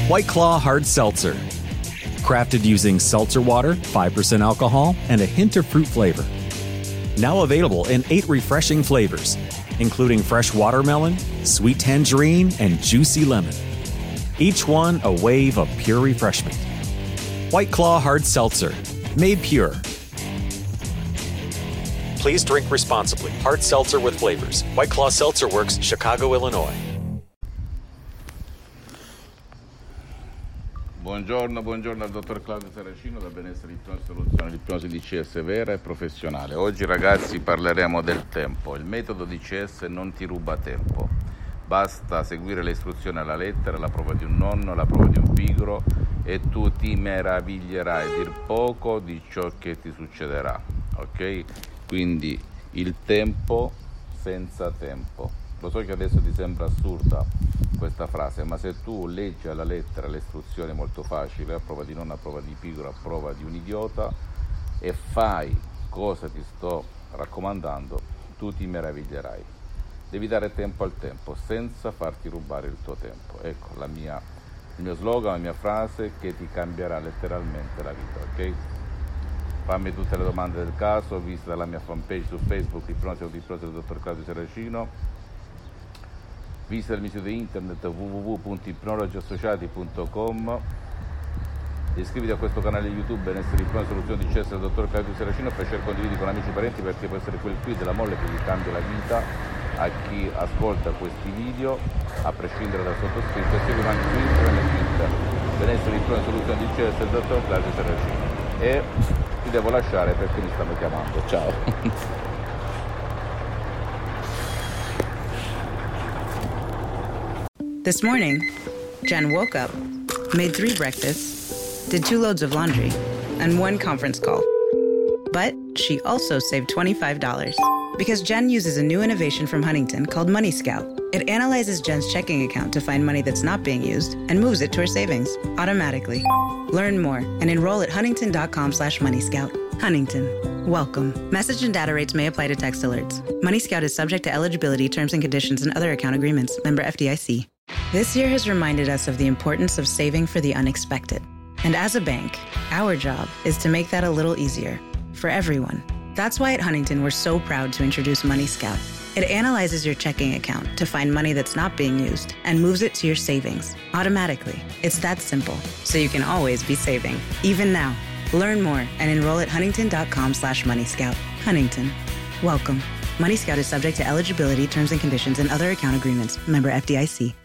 White Claw Hard Seltzer. Crafted using seltzer water, 5% alcohol, and a hint of fruit flavor. Now available in 8 refreshing flavors, including fresh watermelon, sweet tangerine, and juicy lemon. Each one a wave of pure refreshment. White Claw Hard Seltzer, made pure. Please drink responsibly. Hard seltzer with flavors. White Claw Seltzer Works, Chicago, Illinois. Buongiorno al dottor Claudio Saracino da Benessere Ipnosi Soluzione, l'ipnosi DCS vera e professionale. Oggi ragazzi parleremo del tempo. Il metodo DCS non ti ruba tempo. Basta seguire le istruzioni alla lettera, la prova di un nonno, la prova di un pigro e tu ti meraviglierai dir poco di ciò che ti succederà, ok? Quindi il tempo senza tempo. Lo so che adesso ti sembra assurda questa frase, ma se tu leggi alla lettera le istruzioni molto facili, a prova di nonno, a prova di pigro, a prova di un idiota, e fai cosa ti sto raccomandando, tu ti meraviglierai. Devi dare tempo al tempo senza farti rubare il tuo tempo. Ecco il mio slogan, la mia frase che ti cambierà letteralmente la vita, ok? Fammi tutte le domande del caso, visita la mia fanpage su Facebook, ipnosi del dottor Claudio Saracino, visita il mio sito internet www.ipnologiassociati.com, iscriviti a questo canale YouTube Benessere Ipnosi Soluzione DCS del dottor Claudio Saracino, piacere condividi con amici e parenti, perché può essere quel qui della molle che gli cambia la vita a chi ascolta questi video, a prescindere dal sottoscritto. E seguimi anche su Instagram e Twitter Benessere Ipnosi Soluzione DCS del dottor Claudio Saracino. E ti devo lasciare perché mi stanno chiamando. Ciao. This morning, Jen woke up, made 3 breakfasts, did 2 loads of laundry, and 1 conference call. But she also saved $25 because Jen uses a new innovation from Huntington called Money Scout. It analyzes Jen's checking account to find money that's not being used and moves it to her savings automatically. Learn more and enroll at huntington.com/moneyscout. Huntington. Welcome. Message and data rates may apply to text alerts. Money Scout is subject to eligibility, terms and conditions, and other account agreements. Member FDIC. This year has reminded us of the importance of saving for the unexpected. And as a bank, our job is to make that a little easier for everyone. That's why at Huntington, we're so proud to introduce Money Scout. It analyzes your checking account to find money that's not being used and moves it to your savings automatically. It's that simple, so you can always be saving, even now. Learn more and enroll at huntington.com/moneyscout. Huntington. Welcome. Money Scout is subject to eligibility, terms and conditions, and other account agreements. Member FDIC.